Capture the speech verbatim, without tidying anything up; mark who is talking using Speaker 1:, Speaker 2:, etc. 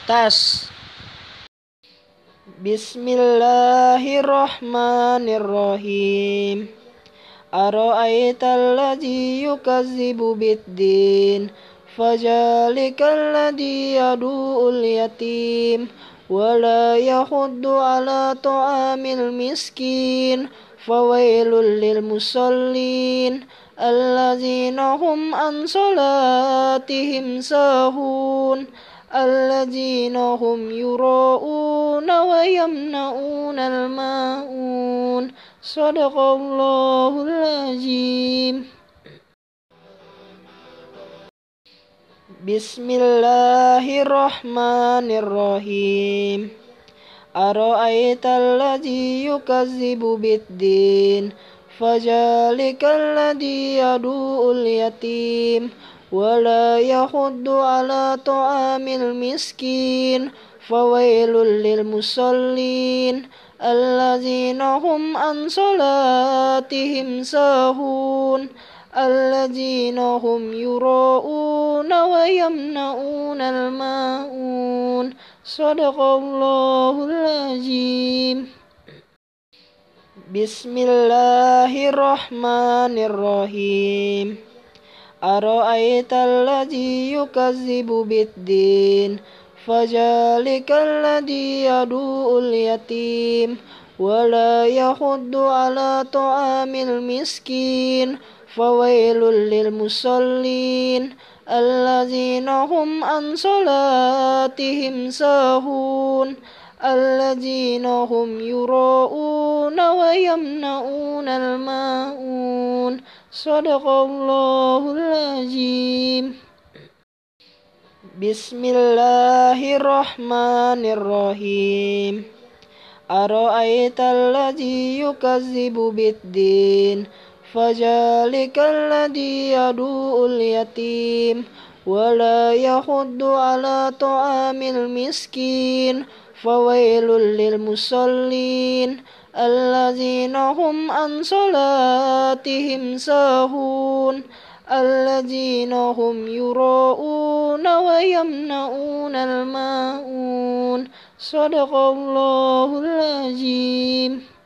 Speaker 1: Tas. Bismillahirrahmanirrahim. Ara'aital ladzi yukazzibu biddin, fajalikal ladzi yadu'ul yatim, wala yahuddu ala ta'amil miskin, fawailul lil musallin, allazina hum an salatihim sahun, allazina hum yura'una wa yamna'una al-ma'un. Sadaqallahul azim. Bismillahirrahmanirrahim. Ara'aital ladzi yukazzibu biddin, fajalikal ladzi yadu'ul yatim, wala yahuddu ala ta'amil miskin, fawailul lil musallin, allazina hum an salatihim sahun, allazina hum yura'una wa yamna'una al-ma'un. Sadaqallahul azim. Bismillahirrahmanirrahim. Ara'aital ladzi yukazzibu biddin, fajalikal ladzi yadu'ul yatim, wala yahuddu ala ta'amil miskin, fawailul lil musallin, allazina hum an salatihim sahun, allazina hum yura'una wa yamna'una al-ma'un. Sadaqallahul azim. Bismillahirrahmanirrahim. Ara'aital ladzi yukazzibu biddin, fajalikal ladzi yadu'ul yatim, wala yahuddu ala ta'amil miskin, fawailul lil musallin, allazina hum an salatihim sahun, allazina hum yura'una wa yamna'una al-ma'un. Sadaqallahul azim.